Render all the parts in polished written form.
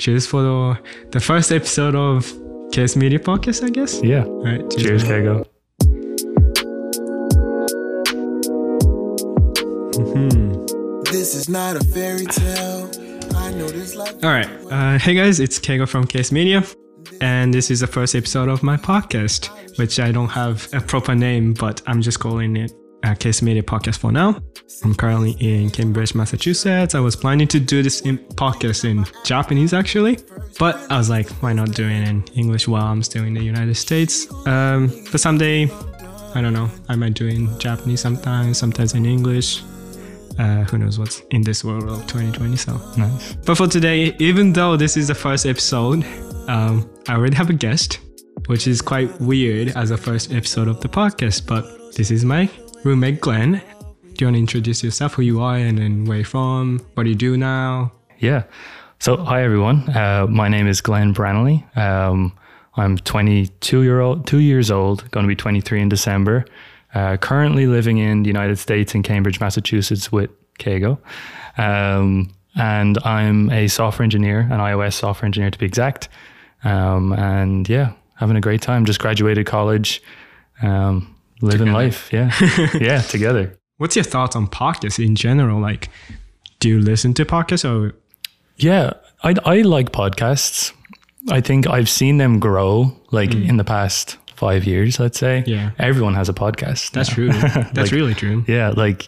cheers for the first episode of KS Media Podcast, I guess. Yeah. All right. Cheers, Kego. This is not a fairy tale. I know this life. All right. Hey guys, it's Kego from KS Media. And this is the first episode of my podcast, which I don't have a proper name, but I'm just calling it KS Media Podcast for now. I'm currently in Cambridge, Massachusetts. I was planning to do this podcast in Japanese actually, but I was like, why not do it in English while I'm still in the United States? But someday, I don't know, I might do it in Japanese sometimes in English. Who knows what's in this world of 2020, so. Nice. But for today, even though this is the first episode, I already have a guest, which is quite weird as a first episode of the podcast, but this is my roommate, Glenn. Do you want to introduce yourself, who you are, and then where you're from, what do you do now? Yeah. So, hi everyone. My name is Glenn Branley. I'm 2 years old, going to be 23 in December. Currently living in the United States in Cambridge, Massachusetts with Kego. And I'm a software engineer, an iOS software engineer to be exact. And yeah, having a great time. Just graduated college, living Together. life. Yeah. Yeah, together. What's your thoughts on podcasts in general? Like, do you listen to podcasts or? Yeah, I like podcasts. I think I've seen them grow in the past 5 years, let's say. Yeah. Everyone has a podcast. That's now. true. That's really true. Yeah,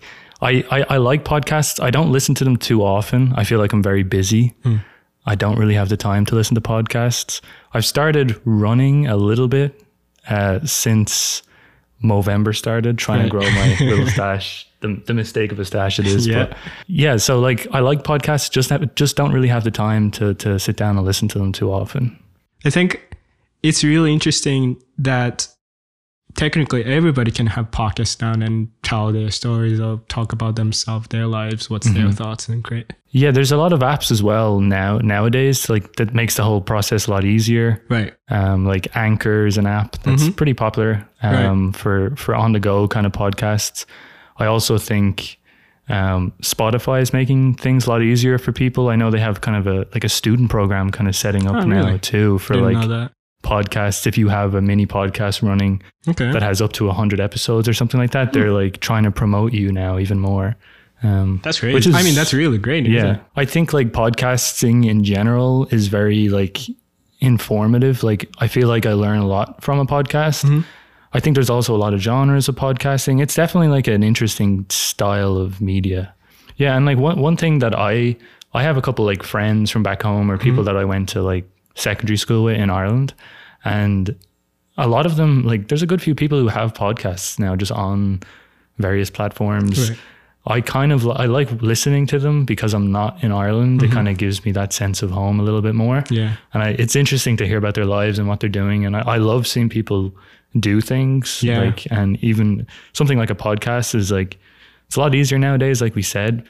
I like podcasts. I don't listen to them too often. I feel like I'm very busy. I don't really have the time to listen to podcasts. I've started running a little bit since Movember started, trying to grow my little stash. The mistake of a stash it is. Yeah. But yeah, so I like podcasts, just don't really have the time to sit down and listen to them too often. I think it's really interesting that technically everybody can have podcasts down and tell their stories or talk about themselves, their lives, what's their thoughts, and great. Yeah, there's a lot of apps as well nowadays, that makes the whole process a lot easier. Right. Like Anchor is an app that's pretty popular for on the go kind of podcasts. I also think Spotify is making things a lot easier for people. I know they have kind of a student program kind of setting up now too for Didn't know that. podcasts. If you have a mini podcast running that has up to 100 episodes or something like that, they're like trying to promote you now even more. That's great. That's really great. Yeah. Isn't it? I think podcasting in general is very informative. I feel like I learn a lot from a podcast. I think there's also a lot of genres of podcasting. It's definitely an interesting style of media. Yeah. And one thing that I have a couple friends from back home or people that I went to secondary school with in Ireland. And a lot of them, there's a good few people who have podcasts now just on various platforms. Right. I like listening to them because I'm not in Ireland. It kind of gives me that sense of home a little bit more. Yeah. And it's interesting to hear about their lives and what they're doing. And I love seeing people do things. Yeah. And even something like a podcast is it's a lot easier nowadays, like we said.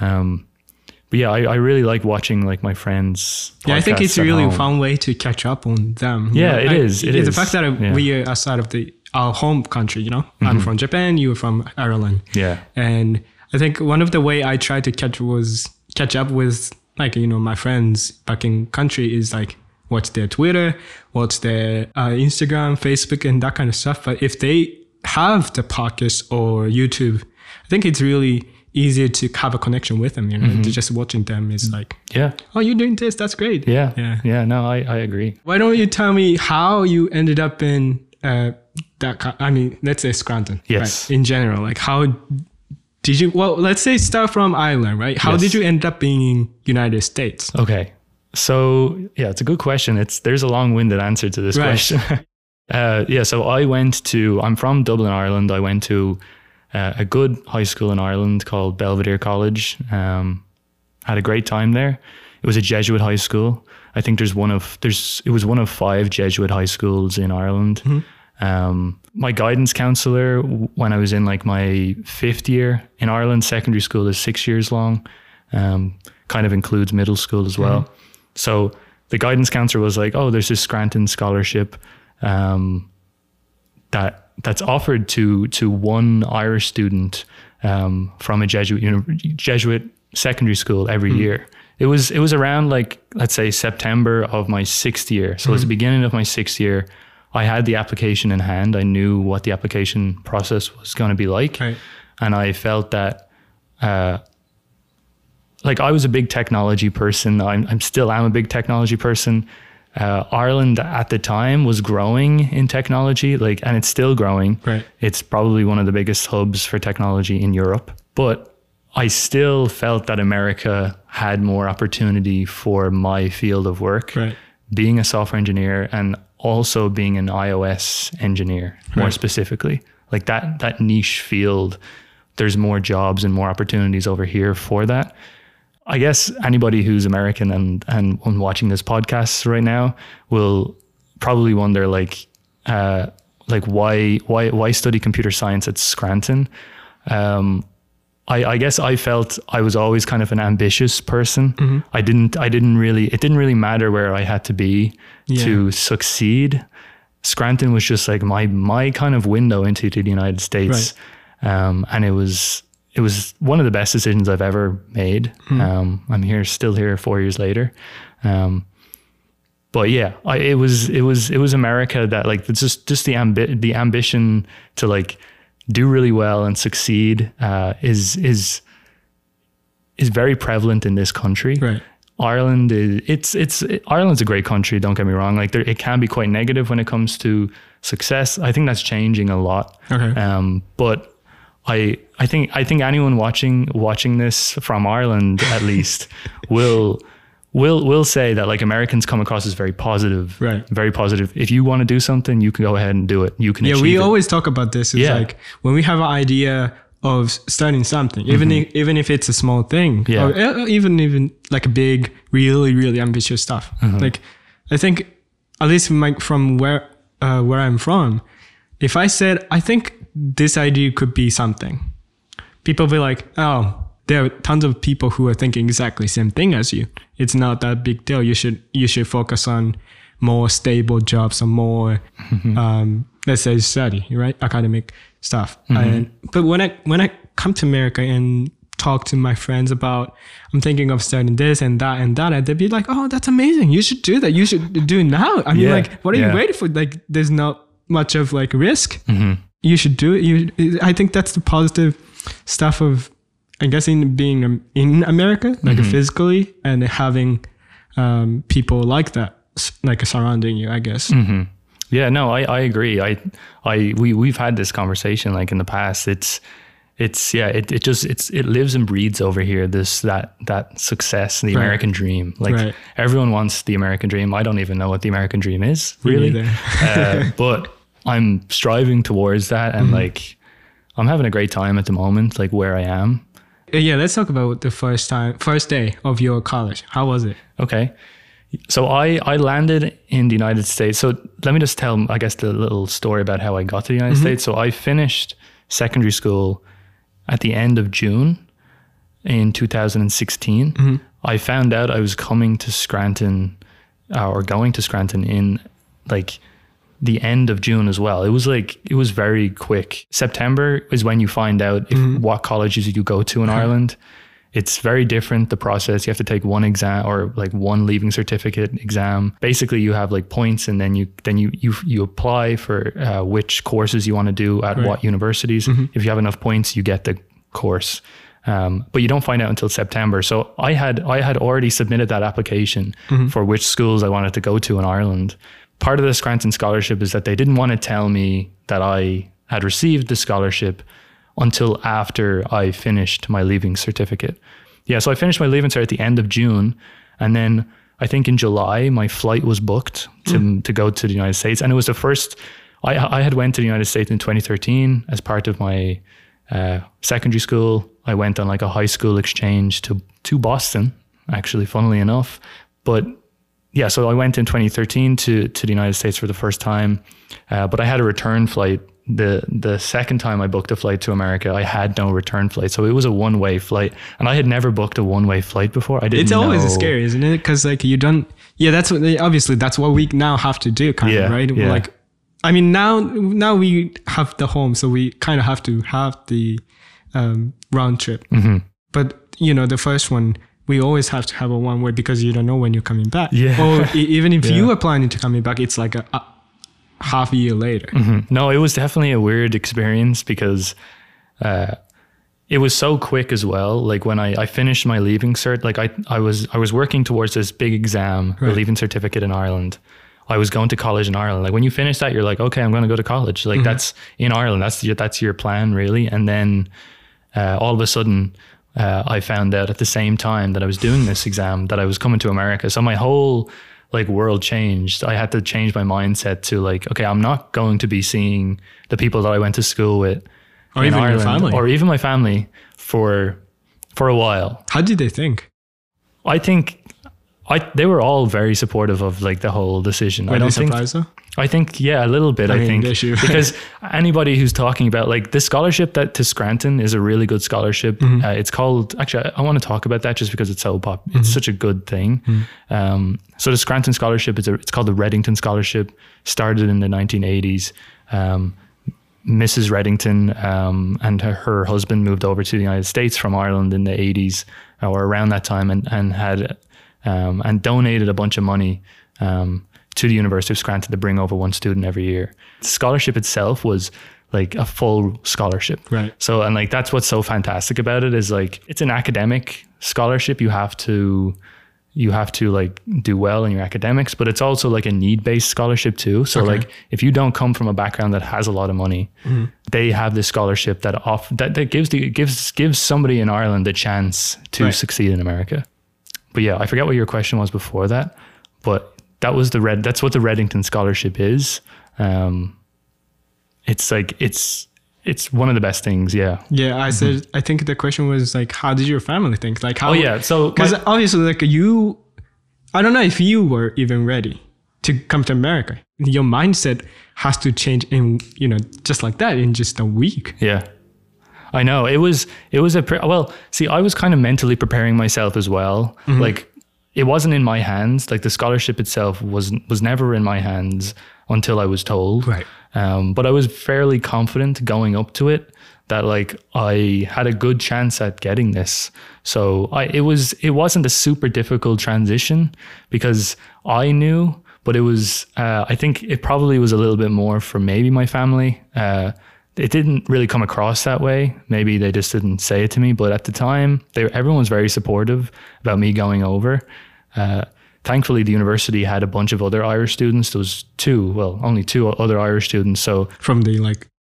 But yeah, I really like watching my friends. Yeah, I think it's a really fun way to catch up on them. Yeah, it is. It is. The fact that we are outside of our home country, I'm from Japan, you're from Ireland. Yeah. And I think one of the way I tried to catch up with my friends back in country is what's their Twitter, what's their Instagram, Facebook, and that kind of stuff. But if they have the podcast or YouTube, I think it's really easier to have a connection with them, just watching them is yeah, oh, you're doing this, that's great. Yeah, no, I agree. Why don't you tell me how you ended up in let's say Scranton. Yes. Right? In general, how did you, let's say start from Ireland, right? How did you end up being in United States? Okay, so yeah, it's a good question. There's a long-winded answer to this question. So I'm from Dublin, Ireland. I went to a good high school in Ireland called Belvedere College. Had a great time there. It was a Jesuit high school. I think it was one of 5 Jesuit high schools in Ireland. My guidance counselor, when I was in my 5th year in Ireland, secondary school is 6 years long, kind of includes middle school as well. So the guidance counselor was there's this Scranton scholarship that's offered to one Irish student from a Jesuit secondary school every year. It was around like, let's say September of my 6th year. So it was the beginning of my 6th year. I had the application in hand. I knew what the application process was going to be like. Right. And I felt that, like I was a big technology person. I'm still am a big technology person. Ireland at the time was growing in technology, like, and it's still growing. Right. It's probably one of the biggest hubs for technology in Europe. But I still felt that America had more opportunity for my field of work, Right. being a software engineer and also being an iOS engineer, more Right. specifically. Like that niche field, there's more jobs and more opportunities over here for that. I guess anybody who's American and watching this podcast right now will probably wonder like why study computer science at Scranton? I guess I felt I was always kind of an ambitious person. It didn't really matter where I had to be to succeed. Scranton was just like my kind of window into the United States. Right. And it was one of the best decisions I've ever made. I'm still here 4 years later. But yeah, it was America that like, it's just the ambition to like do really well and succeed, is very prevalent in this country. Right. Ireland Ireland's a great country. Don't get me wrong. Like it can be quite negative when it comes to success. I think that's changing a lot. Okay. But I think anyone watching this from Ireland at least will say that like Americans come across as very positive. Right. Very positive. If you want to do something, you can go ahead and do it. You can achieve we it. always talk about this. It's like when we have an idea of starting something, even if it's a small thing, or even like a big, really, really ambitious stuff. Like I think, at least from where I'm from, if I said I think this idea could be something, people will be like, oh, there are tons of people who are thinking exactly the same thing as you. It's not that big deal. You should focus on more stable jobs or more, let's say, study, right? Academic stuff. But when I come to America and talk to my friends about, I'm thinking of starting this and that, and they'd be like, oh, that's amazing. You should do that. You should do it now. I mean, like, what are you waiting for? Like, there's not much of like risk. You should do it. I think that's the positive stuff of, I guess, in being in America, like physically, and having people like that, like surrounding you, I guess. Yeah, no, I agree. We've had this conversation like in the past. It lives and breathes over here. That success, the American dream. Like everyone wants the American dream. I don't even know what the American dream is really, but I'm striving towards that, and like I'm having a great time at the moment, like where I am. Yeah, let's talk about the first day of your college. How was it? Okay. So I landed in the United States. So let me just tell, I guess, the little story about how I got to the United States. So I finished secondary school at the end of June in 2016. I found out I was coming to Scranton or going to Scranton in like the end of June as well. It was very quick. September is when you find out what colleges you go to in Ireland. It's very different, the process. You have to take one exam or like one leaving certificate exam. Basically, you have like points, and then you apply for which courses you want to do at what universities. If you have enough points, you get the course. But you don't find out until September. So I had already submitted that application for which schools I wanted to go to in Ireland. Part of the Scranton scholarship is that they didn't want to tell me that I had received the scholarship until after I finished my leaving certificate. Yeah, so I finished my leaving cert at the end of June, and then I think in July my flight was booked to go to the United States, and it was the first. I had went to the United States in 2013 as part of my secondary school. I went on like a high school exchange to Boston, actually, funnily enough. But yeah, so I went in 2013 to the United States for the first time, but I had a return flight. The second time I booked a flight to America, I had no return flight. So it was a one-way flight, and I had never booked a one-way flight before. I didn't know. It's always scary, isn't it? Because like you don't, that's what we now have to do, kind of, right? Yeah. Like, I mean, now we have the home, so we kind of have to have the round trip. But the first one, we always have to have a one way because you don't know when you're coming back. Yeah. Or even if Yeah. you are planning to coming back, it's like a half a year later. No, it was definitely a weird experience because it was so quick as well. Like when I finished my leaving cert, like I was working towards this big exam, the Right. leaving certificate in Ireland. I was going to college in Ireland. Like when you finish that, you're like, okay, I'm going to go to college. Like that's in Ireland. That's your plan really. And then all of a sudden, I found out at the same time that I was doing this exam that I was coming to America. So my whole like world changed. I had to change my mindset to like, okay, I'm not going to be seeing the people that I went to school with Or in even your Ireland, family. or even my family for a while. How did they think? I think they were all very supportive of like the whole decision. Were I they don't think. surprised though? I think, yeah, a little bit. I I mean, think they should. because anybody who's talking about like the scholarship that to Scranton is a really good scholarship. It's called, actually, I want to talk about that just because it's so it's such a good thing. So the Scranton scholarship it's called the Reddington Scholarship. Started in the 1980s. Mrs. Reddington and her husband moved over to the United States from Ireland in the 80s or around that time, and had and donated a bunch of money to the University of Scranton to bring over one student every year. The scholarship itself was like a full scholarship. Right. So, and like, that's what's so fantastic about it is like, it's an academic scholarship. You have to like do well in your academics, but it's also like a need-based scholarship too. So Okay. like, if you don't come from a background that has a lot of money, they have this scholarship that gives somebody in Ireland a chance to Right. succeed in America. But yeah, I forget what your question was before that, but that's what the Reddington Scholarship is. It's like, it's one of the best things. Yeah. Yeah, I said, I think the question was like, how did your family think? Like how? Oh yeah. So Because obviously, like I don't know if you were even ready to come to America. Your mindset has to change in, just like that in just a week. yeah, I know it was see, I was kind of mentally preparing myself as well. Like it wasn't in my hands. Like the scholarship itself was never in my hands until I was told. Right. But I was fairly confident going up to it that like I had a good chance at getting this. So it wasn't a super difficult transition because I knew, but it was, I think it probably was a little bit more for maybe my family. It didn't really come across that way. Maybe they just didn't say it to me, but at the time everyone was very supportive about me going over. Thankfully, the university had a bunch of other Irish students. There was only two other Irish students. So From the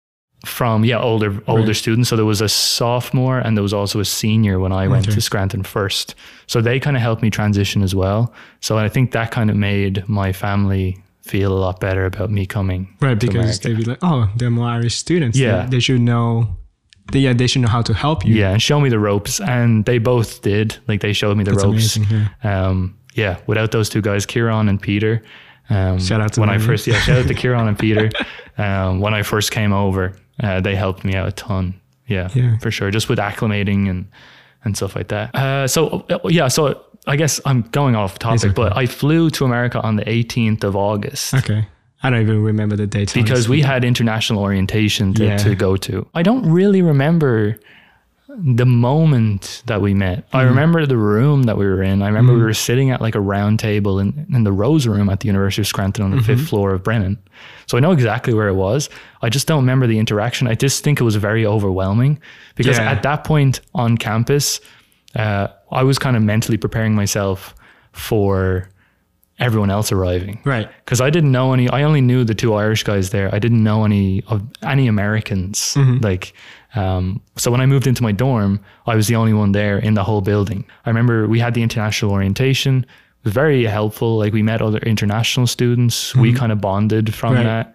older students. So there was a sophomore and there was also a senior when I went to Scranton first. So they kind of helped me transition as well. So I think that kind of made my family feel a lot better about me coming. right, to because America. they'd be like, oh, they're more Irish students. Yeah. They should know. They should know how to help you. Yeah, and show me the ropes. And they both did. Like they showed me the That's ropes. amazing. Yeah. Without those two guys, Kieran and Peter. Shout out to when them. shout out to Kieran and Peter. When I first came over, they helped me out a ton. Yeah, for sure. Just with acclimating and stuff like that. So I guess I'm going off topic, but I flew to America on the 18th of August. Okay. I don't even remember the date. Because we had international orientation to go to. I don't really remember the moment that we met. I remember the room that we were in. I remember we were sitting at like a round table in the Rose Room at the University of Scranton on the 5th floor of Brennan. So I know exactly where it was. I just don't remember the interaction. I just think it was very overwhelming because at that point on campus, I was kind of mentally preparing myself for everyone else arriving. Right. Because I didn't know I only knew the two Irish guys there. I didn't know any Americans. So when I moved into my dorm, I was the only one there in the whole building. I remember we had the international orientation. It was very helpful. Like we met other international students. We kind of bonded from that.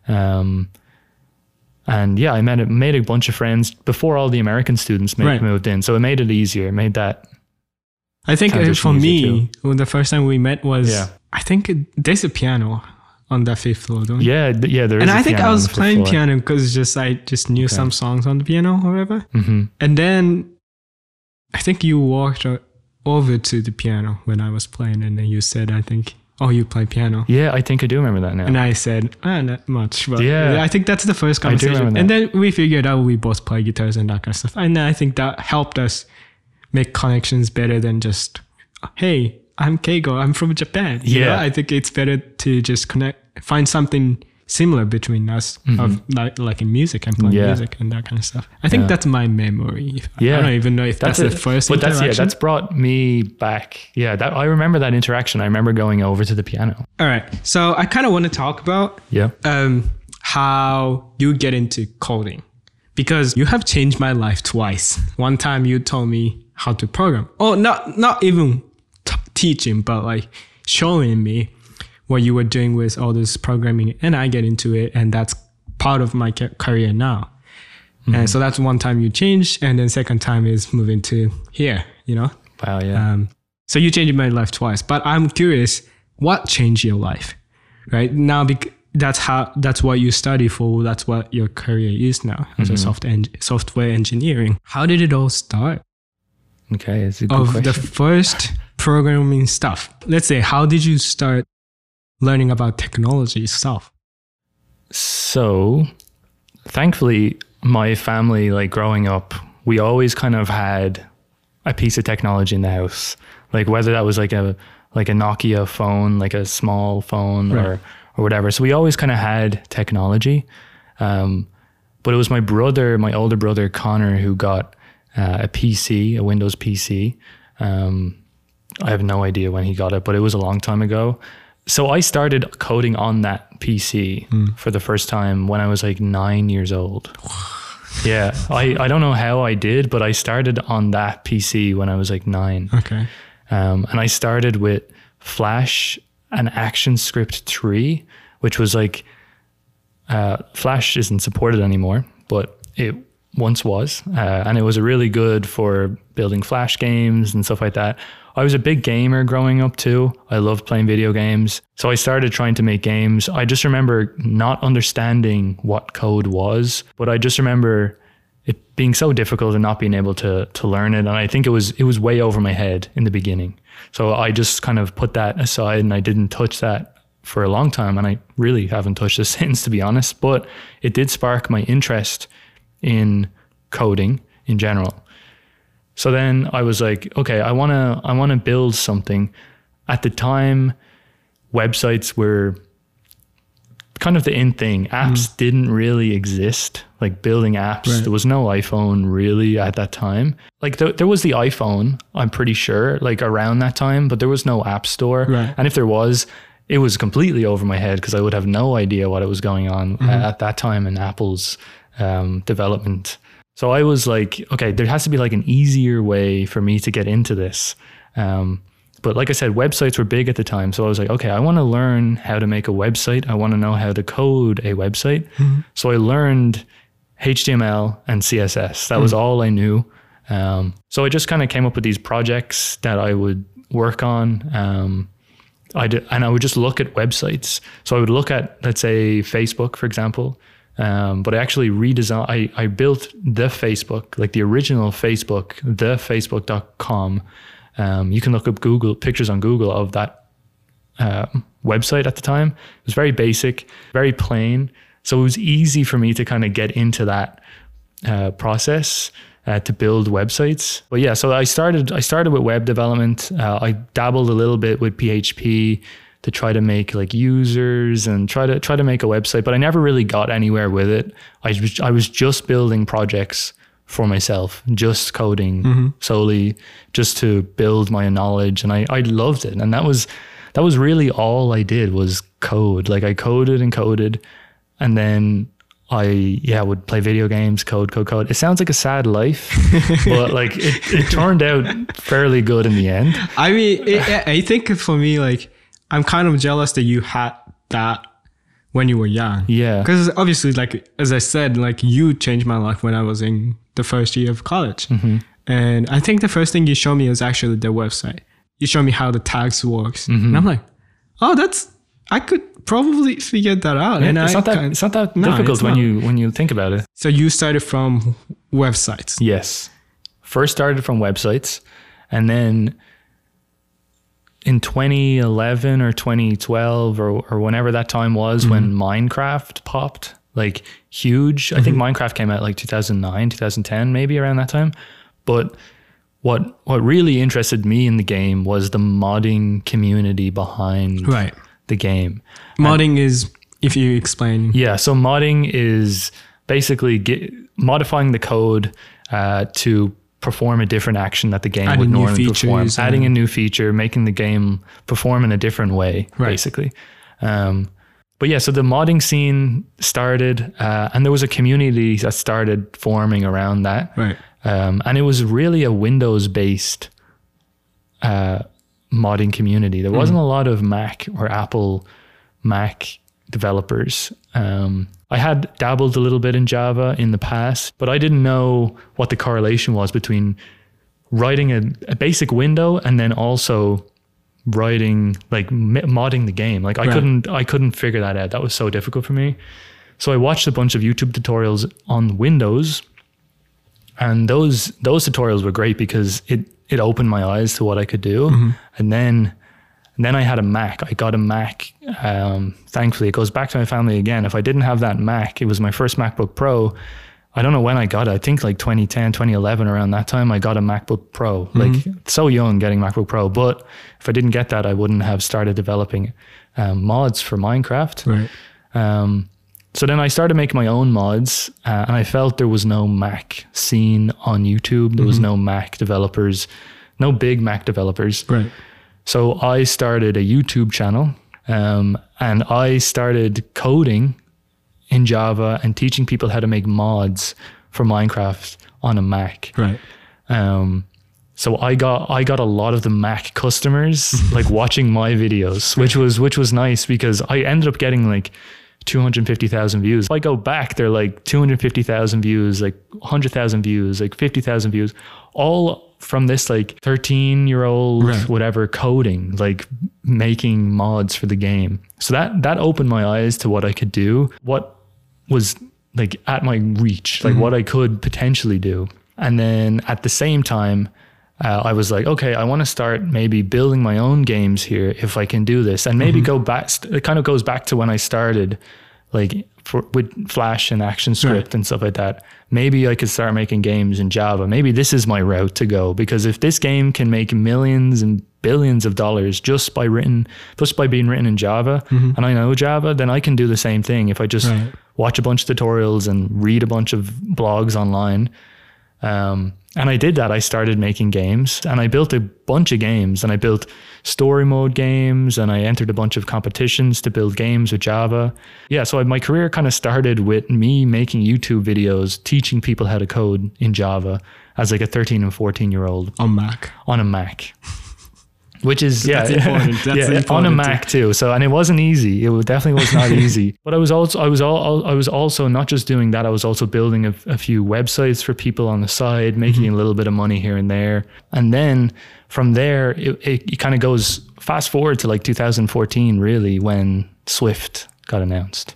And yeah, I made a bunch of friends before all the American students moved in. So it made it easier. It made that. I think for me, the first time we met was, Yeah. I think there's a piano on that 5th floor, don't you? Yeah, there is. And a I think piano I on was the fifth playing floor. piano because I just knew some songs on the piano or whatever. Mm-hmm. And then I think you walked over to the piano when I was playing, and then you said, I think, oh, you play piano. Yeah, I think I do remember that now. And I said, not much. But Yeah. I think that's the first conversation. remember And that. then we figured out we both play guitars and that kind of stuff. And I think that helped us make connections better than just, hey, I'm Keigo, I'm from Japan. You know, I think it's better to just find something similar between us of like in music and playing music and that kind of stuff. I think that's my memory. I don't even know if that's the first interaction. That's brought me back. Yeah, I remember that interaction. I remember going over to the piano. All right. So I kind of want to talk about how you get into coding, because you have changed my life twice. One time you told me how to program. Oh, not even teaching, but like showing me what you were doing with all this programming, and I get into it, and that's part of my career now. And so that's one time you changed, and then second time is moving to here, you know? Wow, yeah. So you changed my life twice, but I'm curious, what changed your life, right? Now, that's what you study for, that's what your career is now, as a software engineering. How did it all start? Okay, it's a good question. The first programming stuff. Let's say, how did you start learning about technology stuff? So, thankfully, my family, like growing up, we always kind of had a piece of technology in the house. Like whether that was like a Nokia phone, like a small phone, or whatever. So we always kind of had technology. But it was my older brother Connor, who got a PC, a Windows PC. I have no idea when he got it, but it was a long time ago. So I started coding on that PC for the first time when I was like 9 years old. Yeah, I don't know how I did, but I started on that PC when I was like 9. Okay. And I started with Flash and ActionScript 3, which was like, Flash isn't supported anymore, but it once was. And it was really good for building Flash games and stuff like that. I was a big gamer growing up too. I loved playing video games. So I started trying to make games. I just remember not understanding what code was, but I just remember it being so difficult and not being able to learn it. And I think it was way over my head in the beginning. So I just kind of put that aside and I didn't touch that for a long time. And I really haven't touched it since, to be honest, but it did spark my interest in coding in general. So then I was like, okay, I want to build something. At the time, websites were kind of the in thing. Apps didn't really exist, like building apps. Right. There was no iPhone really at that time. Like there was the iPhone, I'm pretty sure, like around that time, but there was no app store. Right. And if there was, it was completely over my head because I would have no idea what was going on at that time in Apple's development. So I was like, okay, there has to be like an easier way for me to get into this. But like I said, websites were big at the time. So I was like, okay, I want to learn how to make a website. I want to know how to code a website. So I learned HTML and CSS. That was all I knew. So I just kind of came up with these projects that I would work on. And I would just look at websites. So I would look at, let's say, Facebook, for example. But I actually redesigned, I built the Facebook, like the original Facebook, thefacebook.com. You can look up pictures on Google of that website at the time. It was very basic, very plain. So it was easy for me to kind of get into that process to build websites. But yeah, so I started with web development. I dabbled a little bit with PHP to try to make like users and try to make a website, but I never really got anywhere with it. I was just building projects for myself, just coding solely, just to build my knowledge, and I loved it. And that was really all I did was code. Like I coded, and then I would play video games, code. It sounds like a sad life, but like it turned out fairly good in the end. I mean, I think for me, like, I'm kind of jealous that you had that when you were young. Yeah. Because obviously, like, as I said, like you changed my life when I was in the first year of college. And I think the first thing you showed me was actually the website. You showed me how the tags works. And I'm like, oh, I could probably figure that out. Yeah, and it's not that difficult when you think about it. So you started from websites. Yes. First started from websites, and then in 2011 or 2012 or whenever that time was when Minecraft popped like huge. I think Minecraft came out like 2009, 2010, maybe around that time. But what really interested me in the game was the modding community behind Right. the game. Modding is, if you explain. Yeah, so modding is basically modifying the code to perform a different action that the game Adding would new normally perform. features Adding a and- new feature, making the game perform in a different way, Right. basically. But yeah, so the modding scene started, and there was a community that started forming around that. Right. And it was really a Windows-based modding community. There wasn't a lot of Mac or Apple Mac developers. I had dabbled a little bit in Java in the past, but I didn't know what the correlation was between writing a basic window and then also writing, like modding the game. Like I couldn't figure that out. That was so difficult for me. So I watched a bunch of YouTube tutorials on Windows, and those tutorials were great because it opened my eyes to what I could do. And then I had a Mac. I got a Mac. Thankfully, it goes back to my family again. If I didn't have that Mac, it was my first MacBook Pro. I don't know when I got it. I think like 2010, 2011, around that time, I got a MacBook Pro. Like so young getting MacBook Pro. But if I didn't get that, I wouldn't have started developing mods for Minecraft. Right. So then I started making my own mods, and I felt there was no Mac scene on YouTube. There was no Mac developers, no big Mac developers. Right. So I started a YouTube channel, and I started coding in Java and teaching people how to make mods for Minecraft on a Mac. Right. So I got a lot of the Mac customers like watching my videos, which was nice because I ended up getting like 250,000 views. If I go back, they're like 250,000 views, like 100,000 views, like 50,000 views, all from this like 13-year-old, Right. whatever, coding, like making mods for the game. So that opened my eyes to what I could do, what was like at my reach, like what I could potentially do. And then at the same time, I was like, okay, I want to start maybe building my own games here if I can do this, and maybe go back. It kind of goes back to when I started, like with Flash and ActionScript Right. and stuff like that. Maybe I could start making games in Java. Maybe this is my route to go, because if this game can make millions and billions of dollars just by being written in Java, and I know Java, then I can do the same thing if I just Right. watch a bunch of tutorials and read a bunch of blogs online. And I did that. I started making games, and I built a bunch of games, and I built story mode games, and I entered a bunch of competitions to build games with Java. Yeah. So my career kind of started with me making YouTube videos, teaching people how to code in Java as like a 13 and 14-year-old On Mac. on a Mac. Which is, That's important. That's on a important Mac too. So, and it wasn't easy. It definitely was not easy. But I was also not just doing that. I was also building a few websites for people on the side, making a little bit of money here and there. And then from there, it kind of goes fast forward to like 2014, really, when Swift got announced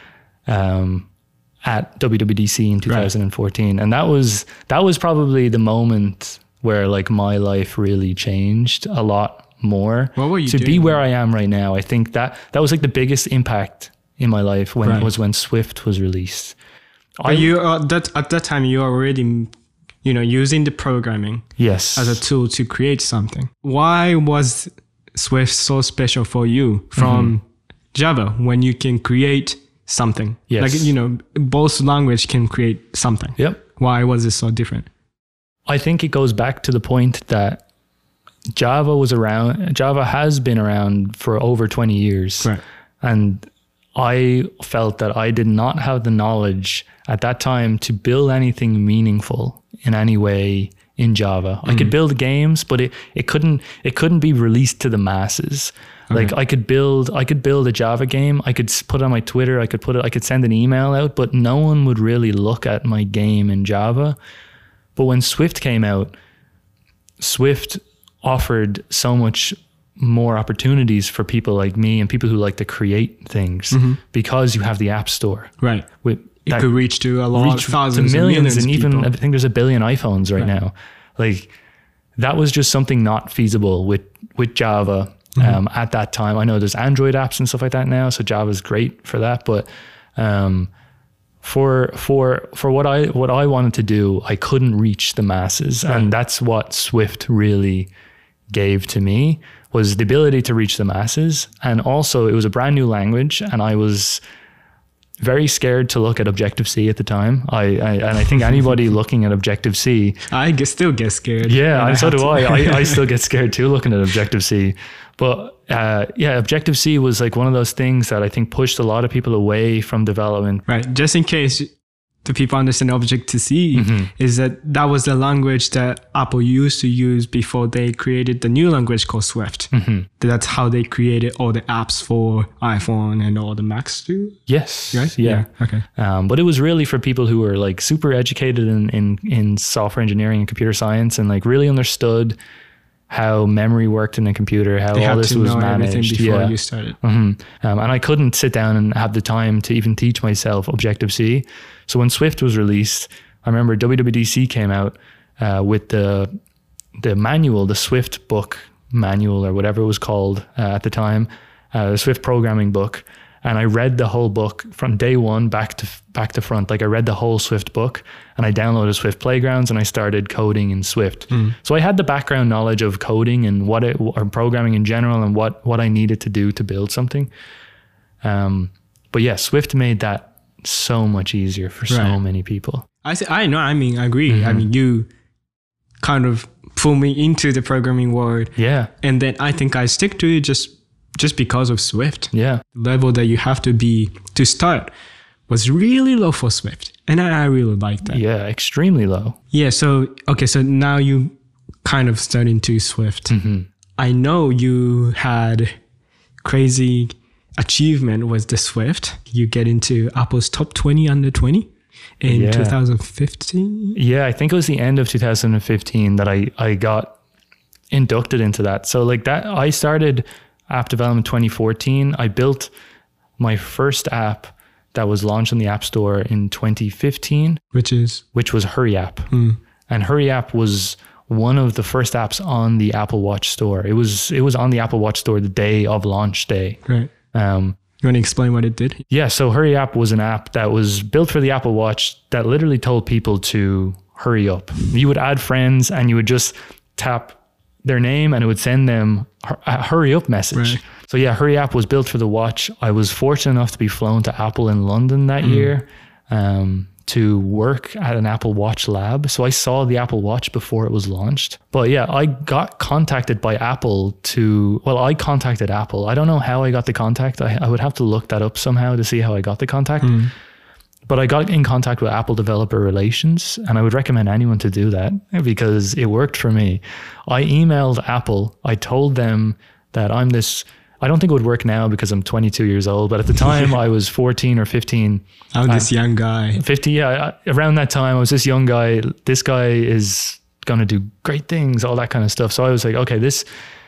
at WWDC in 2014. And that was probably the moment where like my life really changed a lot more. What were you to be doing? where I am right now? I think that was like the biggest impact in my life when Swift was released. Are you at that time you were already, using the programming Yes. as a tool to create something? Why was Swift so special for you from Java when you can create something? Yes. Like, both language can create something. Yep. Why was it so different? I think it goes back to the point that Java has been around for over 20 years. Right. And I felt that I did not have the knowledge at that time to build anything meaningful in any way in Java. I could build games, but it couldn't be released to the masses. Okay. Like I could build a Java game. I could put it on my Twitter. I could send an email out, but no one would really look at my game in Java. But when Swift came out, Swift offered so much more opportunities for people like me and people who like to create things because you have the App Store. Right. With It could reach to a lot, thousands to millions, and of even people. I think there's 1 billion iPhones right now. Like that was just something not feasible with Java at that time. I know there's Android apps and stuff like that now, so Java's great for that. But for what I wanted to do, I couldn't reach the masses. Right. And that's what Swift really gave to me, was the ability to reach the masses. And also it was a brand new language, and I was very scared to look at Objective-C at the time. I think anybody looking at Objective-C, still get scared. Yeah, and so do I. I still get scared too looking at Objective-C. But Objective-C was like one of those things that I think pushed a lot of people away from development. Right. Just in case the people understand Objective-C, is that was the language that Apple used to use before they created the new language called Swift. That's how they created all the apps for iPhone and all the Macs too. Yes. Right? Yeah. Okay. But it was really for people who were like super educated in software engineering and computer science, and like really understood how memory worked in a computer, how all this was managed. Before you started. And I couldn't sit down and have the time to even teach myself Objective-C. So when Swift was released, I remember WWDC came out with the manual, the Swift book manual, or whatever it was called at the time, the Swift programming book. And I read the whole book from day one back to front. Like I read the whole Swift book, and I downloaded Swift Playgrounds, and I started coding in Swift. So I had the background knowledge of coding and or programming in general, and what I needed to do to build something. But yeah, Swift made that so much easier for so many people. I know. I mean, I agree. I mean, you kind of pull me into the programming world. Yeah. And then I think I stick to it just because of Swift. Yeah. The level that you have to be to start was really low for Swift. And I really like that. Yeah, extremely low. Yeah. So now you kind of start into Swift. I know you had crazy achievement with the Swift. You get into Apple's top 20 under 20 in 2015. Yeah, I think it was the end of 2015 that I got inducted into that. So like that, I started app development 2014. I built my first app that was launched in the App Store in 2015, which was Hurry App. And Hurry App was one of the first apps on the Apple Watch store. It was on the Apple Watch store the day of launch day. Right. You want to explain what it did? Yeah. So Hurry App was an app that was built for the Apple Watch that literally told people to hurry up. You would add friends and you would just tap their name and it would send them a hurry up message. Right. So yeah, Hurry App was built for the watch. I was fortunate enough to be flown to Apple in London that year to work at an Apple Watch lab. So I saw the Apple Watch before it was launched. But yeah, I got contacted by Apple I contacted Apple. I don't know how I got the contact. I would have to look that up somehow to see how I got the contact. But I got in contact with Apple Developer Relations, and I would recommend anyone to do that because it worked for me. I emailed Apple. I told them that I don't think it would work now because I'm 22 years old, but at the time I was 14 or 15. I'm this young guy. 50, yeah. Around that time, I was this young guy. This guy is going to do great things, all that kind of stuff. So I was like, okay, this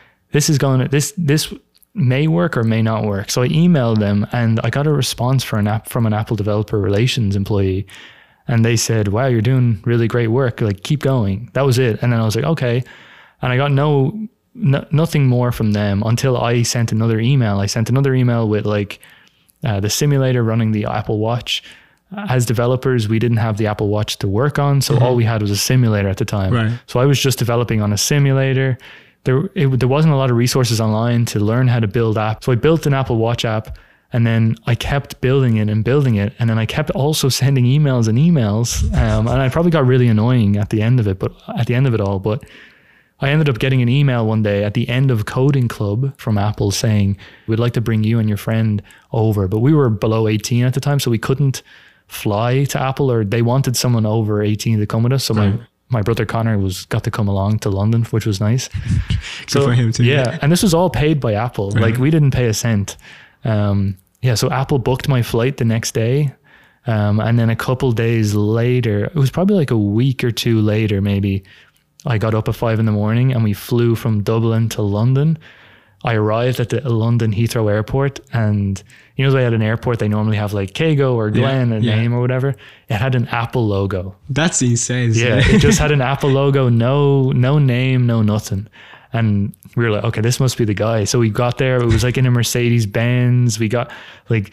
may work or may not work. So I emailed them and I got a response from an Apple Developer Relations employee. And they said, wow, you're doing really great work. Like, keep going. That was it. And then I was like, okay. And I got nothing more from them until I sent another email. I sent another email with the simulator running the Apple Watch. As developers, we didn't have the Apple Watch to work on. So all we had was a simulator at the time. Right. So I was just developing on a simulator. There wasn't a lot of resources online to learn how to build apps. So I built an Apple Watch app, and then I kept building it. And then I kept also sending emails and emails. And I probably got really annoying at the end of it all. But I ended up getting an email one day at the end of Coding Club from Apple saying, we'd like to bring you and your friend over. But we were below 18 at the time, so we couldn't fly to Apple, or they wanted someone over 18 to come with us. So my brother Connor got to come along to London, which was nice. So for him too. Yeah. And this was all paid by Apple. Right. Like, we didn't pay a cent. So Apple booked my flight the next day. And then a couple days later, it was probably like a week or two later, maybe, I got up at 5 a.m. and we flew from Dublin to London. I arrived at the London Heathrow Airport, and you know, at an airport, they normally have like Kago or Glenn, name or whatever. It had an Apple logo. That's insane. Yeah, it just had an Apple logo, no name, no nothing. And we were like, okay, this must be the guy. So we got there. It was like in a Mercedes Benz. We got like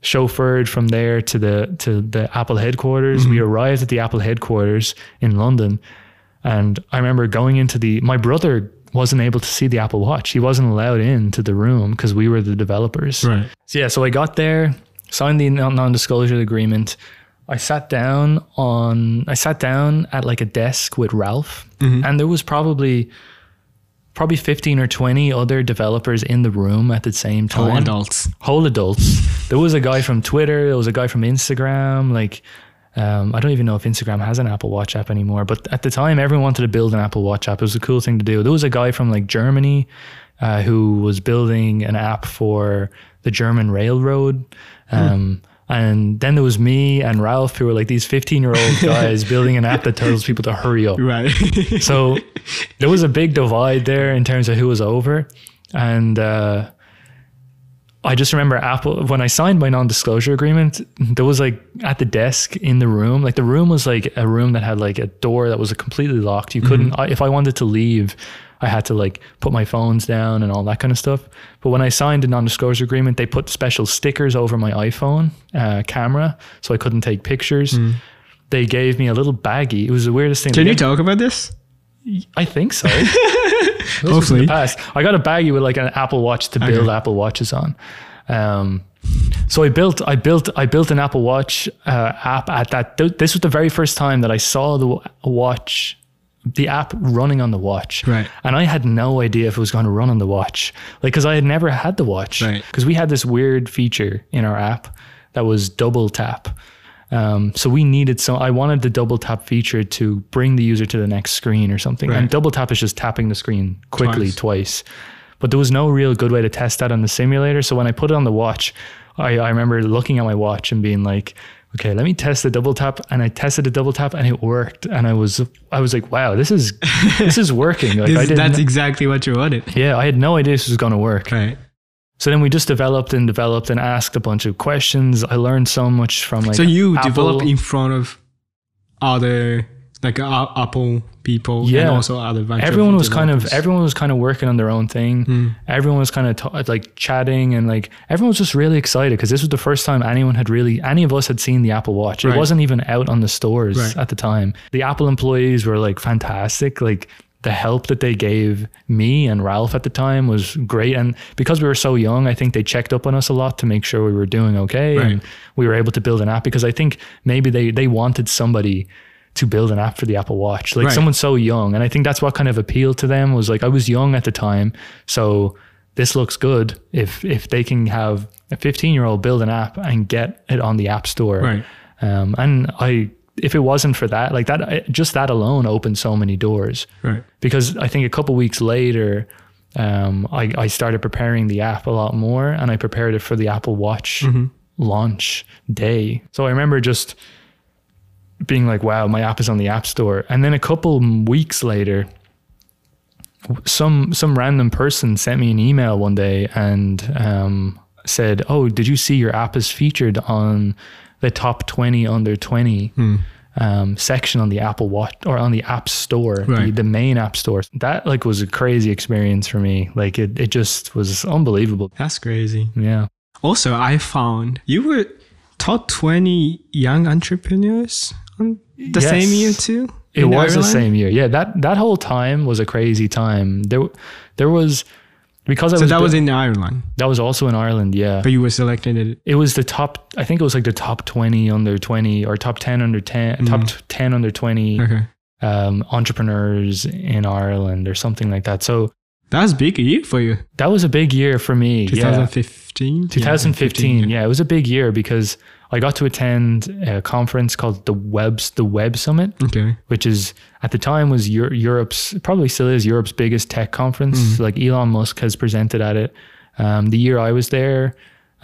chauffeured from there to the Apple headquarters. We arrived at the Apple headquarters in London, and I remember going into my brother wasn't able to see the Apple Watch. He wasn't allowed into the room because we were the developers. Right. So I got there, signed the non-disclosure agreement. I sat down at like a desk with Ralph, and there was probably 15 or 20 other developers in the room at the same time. Whole adults. There was a guy from Twitter. There was a guy from Instagram. Like, I don't even know if Instagram has an Apple Watch app anymore, but at the time everyone wanted to build an Apple Watch app. It was a cool thing to do. There was a guy from like Germany who was building an app for the German railroad. And then there was me and Ralph, who were like these 15-year-old guys building an app that tells people to hurry up. Right. So there was a big divide there in terms of who was over. And I just remember Apple, when I signed my non-disclosure agreement, there was like at the desk in the room, like the room was like a room that had like a door that was completely locked. You couldn't, if I wanted to leave, I had to like put my phones down and all that kind of stuff. But when I signed a non-disclosure agreement, they put special stickers over my iPhone camera so I couldn't take pictures. They gave me a little baggie. It was the weirdest thing. Can you talk about this? I think so. Hopefully. I got a baggie with like an Apple Watch to build Apple Watches on. So I built an Apple Watch app at that. This was the very first time that I saw the app running on the watch. Right. And I had no idea if it was going to run on the watch. Like, cause I had never had the watch. Right. Cause we had this weird feature in our app that was double tap. So I wanted the double tap feature to bring the user to the next screen or something. Right. And double tap is just tapping the screen quickly twice. But there was no real good way to test that on the simulator. So when I put it on the watch, I remember looking at my watch and being like, okay, let me test the double tap. And I tested the double tap and it worked. And I was like, wow, this is working. Like that's exactly what you wanted. Yeah, I had no idea this was going to work. Right. So then we just developed and asked a bunch of questions. I learned so much from like. So you Apple. developed in front of other like Apple people and also other bunch everyone of was kind of working on their own thing. Everyone was kind of like chatting, and like everyone was just really excited because this was the first time any of us had seen the Apple Watch. It wasn't even out on the stores at the time. The Apple employees were like fantastic. Like the help that they gave me and Ralph at the time was great. And because we were so young, I think they checked up on us a lot to make sure we were doing okay. And we were able to build an app because I think maybe they wanted somebody to build an app for the Apple Watch, like someone so young. And I think that's what kind of appealed to them, was like, I was young at the time. So this looks good if they can have a 15-year-old build an app and get it on the App Store. Right. And if it wasn't for that, like that, just that alone opened so many doors. Right. Because I think a couple of weeks later, I started preparing the app a lot more, and I prepared it for the Apple Watch launch day. So I remember just being like, wow, my app is on the App Store. And then a couple weeks later, some random person sent me an email one day and said, oh, did you see your app is featured on the top 20 under 20 section on the Apple Watch or on the App Store, the main App Store? That like was a crazy experience for me. Like it just was unbelievable. That's crazy. Yeah. Also, I found you were top 20 young entrepreneurs on the same year too. It was the same year. Yeah, that whole time was a crazy time. There was, because that was in Ireland. That was also in Ireland, yeah. But you were selected. It was the top, I think it was like the top 20 under 20 or top 10 under 10, top 10 under 20 entrepreneurs in Ireland or something like that. So that was a big year for you. That was a big year for me. 2015? 2015, yeah. It was a big year because I got to attend a conference called the Web Summit, which is at the time was Europe's, probably still is Europe's biggest tech conference. Like Elon Musk has presented at it. The year I was there,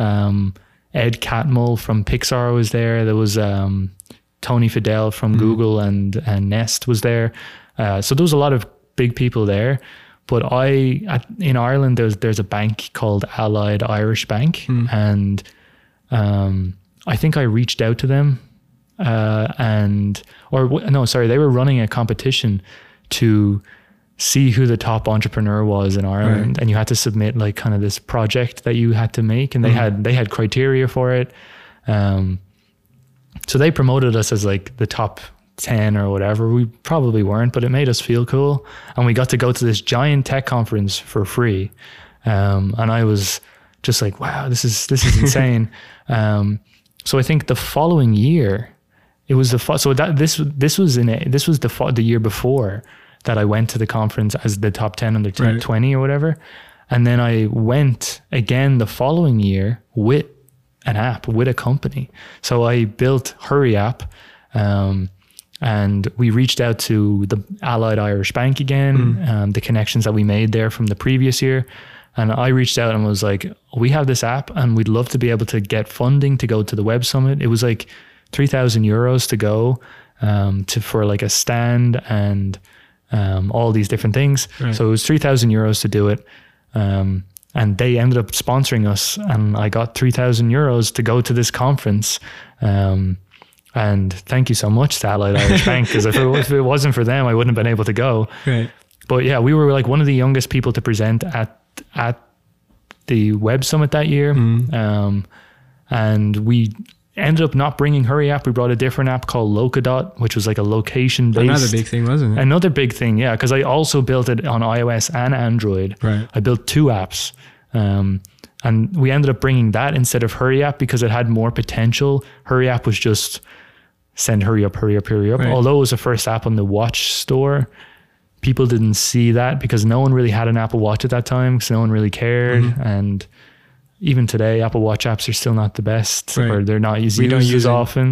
Ed Catmull from Pixar was there. There was Tony Fadell from Google and Nest was there. So there was a lot of big people there. But in Ireland, there's a bank called Allied Irish Bank, and I think I reached out to them, they were running a competition to see who the top entrepreneur was in Ireland, and you had to submit like kind of this project that you had to make, and they had criteria for it. So they promoted us as like the top 10 or whatever. We probably weren't, but it made us feel cool, and we got to go to this giant tech conference for free. And I was just like, wow, this is insane. So I think the following year, it was this was the year before that I went to the conference as the top 10 under 20 or whatever. And then I went again the following year with an app, with a company. So I built Hurry App, and we reached out to the Allied Irish Bank again, the connections that we made there from the previous year. And I reached out and was like, we have this app and we'd love to be able to get funding to go to the Web Summit. It was like 3,000 euros to go for like a stand and all these different things. Right. So it was 3,000 euros to do it. And they ended up sponsoring us, and I got 3,000 euros to go to this conference. And thank you so much to Allied Irish Bank, because if it wasn't for them, I wouldn't have been able to go. Right. But yeah, we were like one of the youngest people to present at the Web Summit that year. And we ended up not bringing Hurry App. We brought a different app called Locadot, which was like a location-based. Another big thing, wasn't it? Another big thing, yeah, because I also built it on iOS and Android. Right. I built two apps. And we ended up bringing that instead of Hurry App because it had more potential. Hurry App was just send hurry up. Right. Although it was the first app on the Watch store, people didn't see that because no one really had an Apple Watch at that time, because no one really cared. And even today, Apple Watch apps are still not the best, or they're not used as often.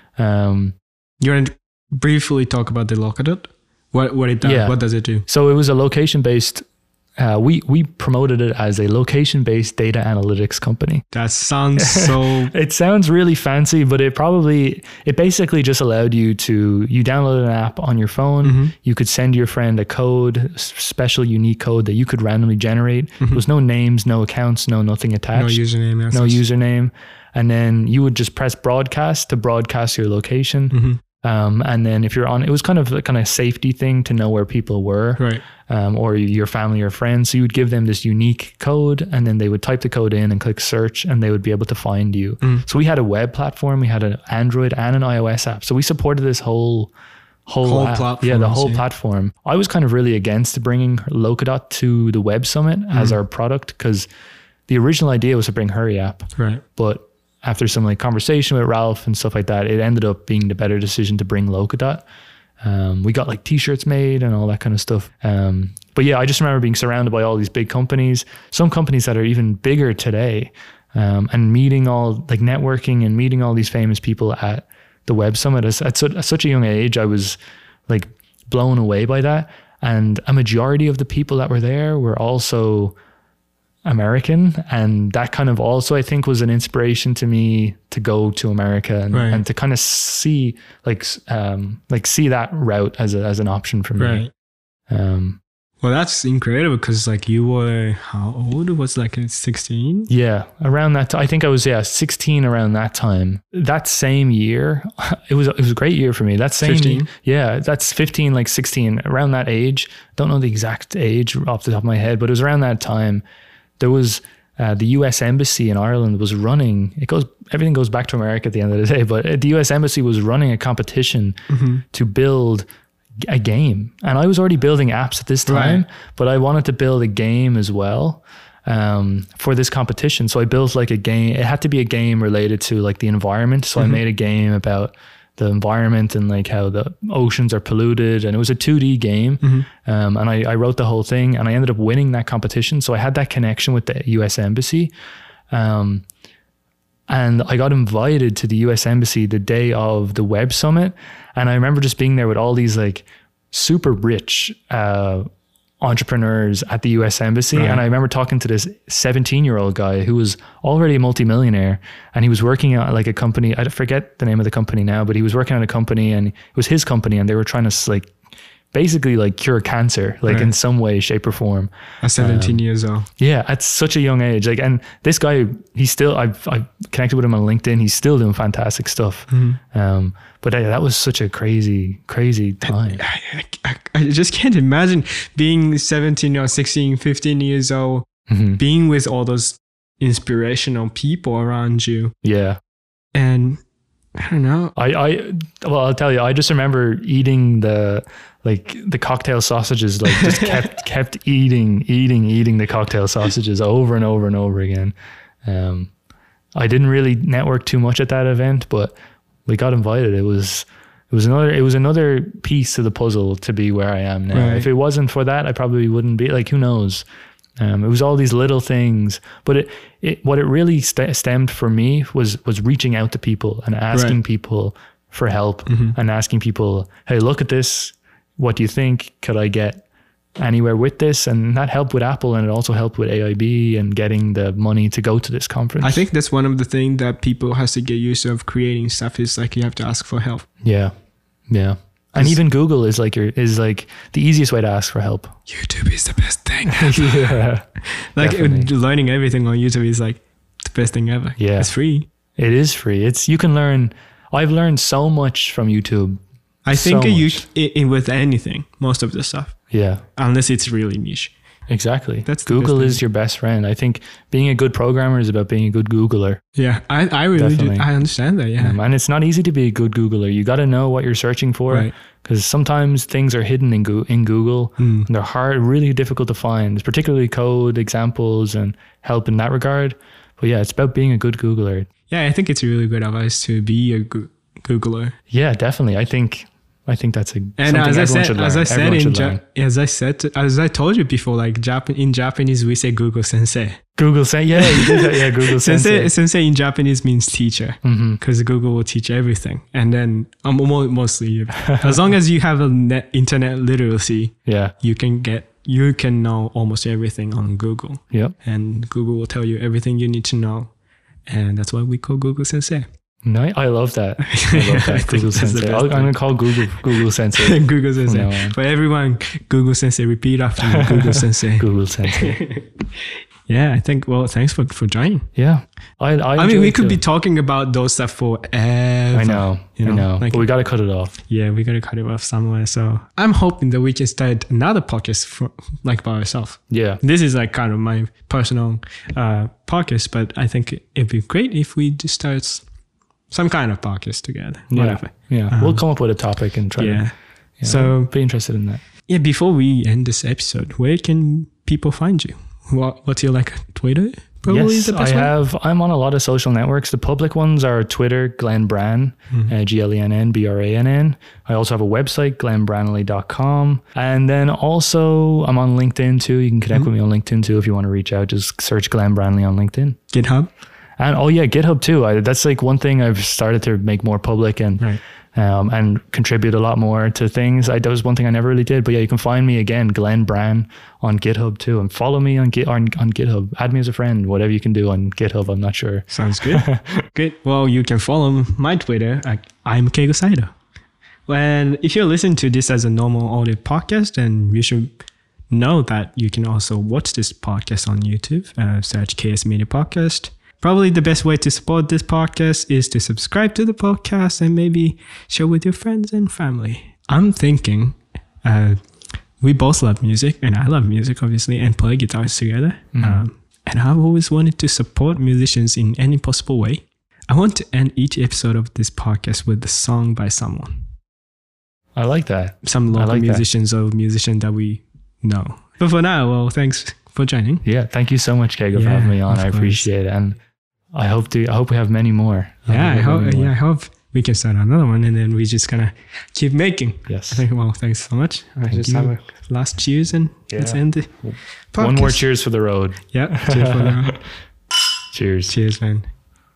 You want to briefly talk about the Locadot? What it does? Yeah. What does it do? So it was a location-based. We promoted it as a location-based data analytics company. That sounds so... It sounds really fancy, but it basically just allowed you download an app on your phone. You could send your friend a code, special unique code that you could randomly generate. There was no names, no accounts, nothing attached. No username. And then you would just press broadcast to broadcast your location. And then if you're on, it was kind of a safety thing to know where people were, or your family or friends. So you would give them this unique code, and then they would type the code in and click search, and they would be able to find you. So we had a web platform, we had an Android and an iOS app. So we supported this whole app. Platform. Yeah, the whole platform. I was kind of really against bringing Locadot to the Web Summit as our product, because the original idea was to bring Hurry App. Right. But after some conversation with Ralph and stuff like that, it ended up being the better decision to bring Locadot. We got t-shirts made and all that kind of stuff. But yeah, I just remember being surrounded by all these big companies, some companies that are even bigger today, and meeting networking and meeting all these famous people at the Web Summit. At such a young age, I was blown away by that. And a majority of the people that were there were also American, and that kind of also I think was an inspiration to me to go to America and to kind of see see that route as an option for me. Well, that's incredible, because you were, how old? It was 16? Yeah, around that I think I was 16 around that time. That same year, it was a great year for me. That same 15? Yeah, that's 15, 16, around that age. Don't know the exact age off the top of my head, but it was around that time. There was the US Embassy in Ireland was running, everything goes back to America at the end of the day, but the US Embassy was running a competition to build a game. And I was already building apps at this time, but I wanted to build a game as well for this competition. So I built a game. It had to be a game related to the environment. So I made a game about the environment and how the oceans are polluted, and it was a 2D game. And I wrote the whole thing, and I ended up winning that competition. So I had that connection with the US Embassy. And I got invited to the US Embassy the day of the Web Summit. And I remember just being there with all these super rich entrepreneurs at the US Embassy. And I remember talking to this 17-year-old guy who was already a multimillionaire, and he was working at a company. I forget the name of the company now, but he was working at a company, and it was his company, and they were trying to basically like cure cancer, like in some way, shape or form. At 17 years old. Yeah, at such a young age. Like, and this guy, he's still, I've connected with him on LinkedIn. He's still doing fantastic stuff. But that was such a crazy time. I just can't imagine being 17 or 16, 15 years old, being with all those inspirational people around you. Yeah. And I don't know. Well, I'll tell you, I just remember eating the cocktail sausages, like just kept eating the cocktail sausages over and over and over again. I didn't really network too much at that event, but we got invited. It was another piece of the puzzle to be where I am now. Right. If it wasn't for that, I probably wouldn't be, like, who knows? It was all these little things, but what it really stemmed for me was reaching out to people and asking people for help and asking people, hey, look at this. What do you think? Could I get anywhere with this? And that helped with Apple, and it also helped with AIB and getting the money to go to this conference. I think that's one of the things that people has to get used to of creating stuff is like you have to ask for help. Yeah. And even Google is like the easiest way to ask for help. YouTube is the best thing. Yeah, like definitely. learning everything on YouTube is like the best thing ever. Yeah. It's free. It is free. You can learn. I've learned so much from YouTube. I think So you with anything, most of the stuff, Yeah, unless it's really niche. exactly. That's the Google best is your best friend. I think being a good programmer is about being a good Googler. Yeah, I really Definitely. do. I understand that. Yeah. And it's not easy to be a good Googler. You got to know what you're searching for, Right. because sometimes things are hidden in Google. And they're really difficult to find, particularly code examples and help in that regard. But yeah, it's about being a good Googler. Yeah, I think it's really good advice to be a Googler. Yeah, definitely. I think that's And something as I should learn. as I told you before, like in Japanese we say Google Sensei. Google Sensei. Yeah, you did that. Yeah, Google Sensei. Sensei in Japanese means teacher, because Google will teach everything. And then mostly, as long as you have internet literacy, Yeah. you can know almost everything on Google. Yep. And Google will tell you everything you need to know. And that's why we call Google Sensei. No, I love that. Google that's the Sensei. best I'm going to call Google Sensei. Google Sensei. From now on. For everyone, Google Sensei, repeat after me. Google Sensei. Google Sensei. Yeah, I think, well, thanks for joining. Yeah. I mean, we enjoyed could too. be talking about those stuff forever. I know. Like, But we got to cut it off. yeah, we got to cut it off somewhere. So I'm hoping that we can start another podcast by ourselves. Yeah. This is like kind of my personal podcast, but I think it'd be great if we just start some kind of podcast together. Whatever. Yeah. We'll come up with a topic and try Yeah. to. So be interested in that. yeah, before we end this episode, where can people find you? What's your Twitter? Probably Yes, the best one? I'm on a lot of social networks. The public ones are Twitter, Glenn Brann, Glenn Brann. I also have a website, glennbranley.com. And then also I'm on LinkedIn too. You can connect with me on LinkedIn than if you want to reach out. Just search Glenn Branley on LinkedIn. GitHub. And GitHub too. That's like one thing I've started to make more public and contribute a lot more to things. That was one thing I never really did. But yeah, you can find me again, Glenn Brann, on GitHub too, and follow me on GitHub. Add me as a friend. Whatever you can do on GitHub, I'm not sure. Sounds good. Good. Well, you can follow my Twitter. I'm Keigo Saito. And if you're listening to this as a normal audio podcast, then you should know that you can also watch this podcast on YouTube. Search KS Media Podcast. Probably the best way to support this podcast is to subscribe to the podcast and maybe share with your friends and family. I'm thinking we both love music, and I love music, obviously, and play guitars together. And I've always wanted to support musicians in any possible way. I want to end each episode of this podcast with a song by someone. I like that. Some local musicians or musician that we know. But for now, well, thanks for joining. Yeah, thank you so much, Keigo, for having me on. I appreciate it. And I hope we have many more. I hope we can start another one, and then we just gonna keep making. Yes. Well, thanks so much. I just have a last cheers and let's end the podcast. One more cheers for the road. Yeah. Cheers for the road. Cheers. Cheers, man.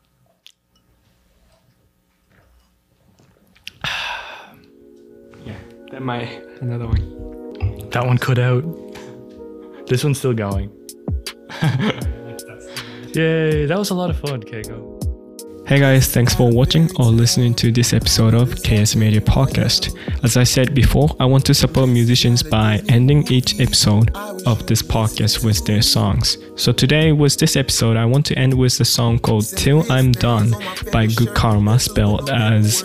Yeah. That might another one. That one cut out. This one's still going. Yay, that was a lot of fun, Keigo. Hey guys, thanks for watching or listening to this episode of KS Media Podcast. As I said before, I want to support musicians by ending each episode of this podcast with their songs. So today with this episode, I want to end with a song called Till I'm Done by Good Karma, spelled as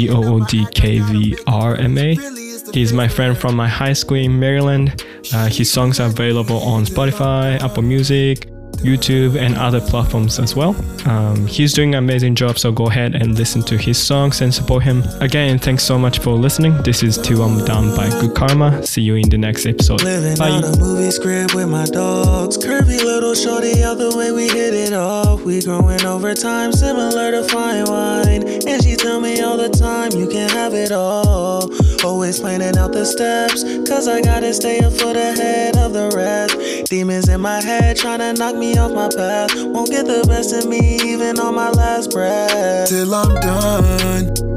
Goodkrma. He's my friend from my high school in Maryland. His songs are available on Spotify, Apple Music, YouTube, and other platforms as well. He's doing an amazing job, so go ahead and listen to his songs and support him. Again, thanks so much for listening. This is Till I'm Done by Good Karma. See you in the next episode. Living Bye. on a movie script with my dogs. Curvy little shorty out the way we hit it off. We growing over time, similar to fine wine. And she tell me all the time, you can have it all. Always planning out the steps, cause I gotta stay a foot ahead of the rest. Demons in my head trying to knock me off my path. Won't get the best of me even on my last breath. Till I'm done